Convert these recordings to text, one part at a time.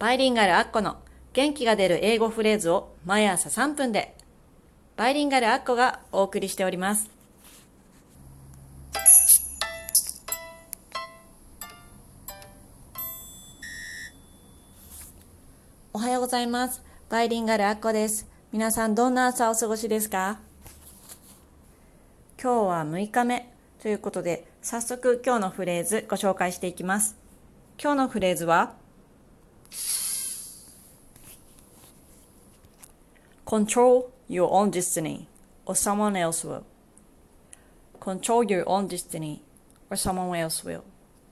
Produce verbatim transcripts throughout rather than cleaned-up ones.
バイリンガルアッコの元気が出る英語フレーズを毎朝さんぷんで、バイリンガルアッコがお送りしております。おはようございます。バイリンガルアッコです。皆さんどんな朝をお過ごしですか？今日はむいかめということで、早速今日のフレーズご紹介していきます。今日のフレーズはControl your own destiny or someone else will. Control your own destiny or someone else will.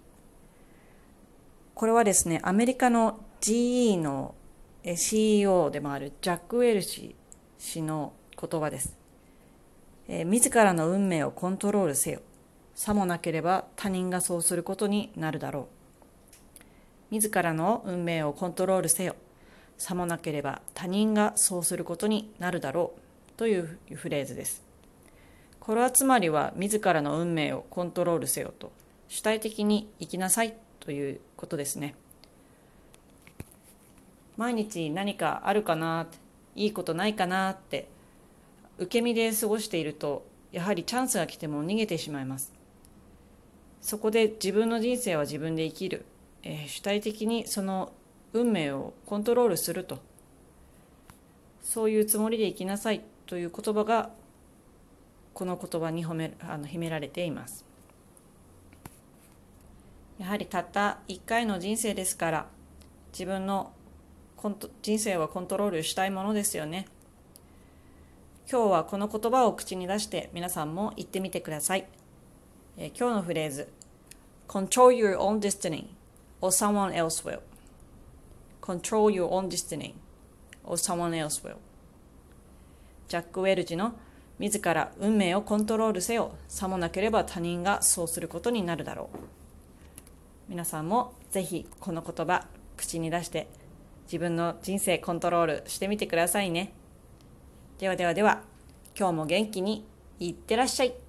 これはですね、アメリカの ジーイー の シーイーオー でもあるジャック・ウェルシ氏の言葉です。えー、自らの運命をコントロールせよ。さもなければ他人がそうすることになるだろう。自らの運命をコントロールせよ。さもなければ他人がそうすることになるだろうというフレーズです。これはつまりは自らの運命をコントロールせよと、主体的に生きなさいということですね。毎日何かあるかな、いいことないかなって受け身で過ごしていると、やはりチャンスが来ても逃げてしまいます。そこで自分の人生は自分で生きる、えー、主体的にその運命をコントロールすると、そういうつもりで生きなさいという言葉がこの言葉に褒めあの秘められています。やはりたった一回の人生ですから、自分のコント人生はコントロールしたいものですよね。今日はこの言葉を口に出して皆さんも言ってみてください。えー、今日のフレーズ Control your own destiny or someone else will. Control your own destiny or someone else will. ジャック・ウェルチの自ら運命をコントロールせよ。さもなければ他人がそうすることになるだろう。皆さんもぜひこの言葉口に出して自分の人生コントロールしてみてくださいね。ではではでは、今日も元気にいってらっしゃい。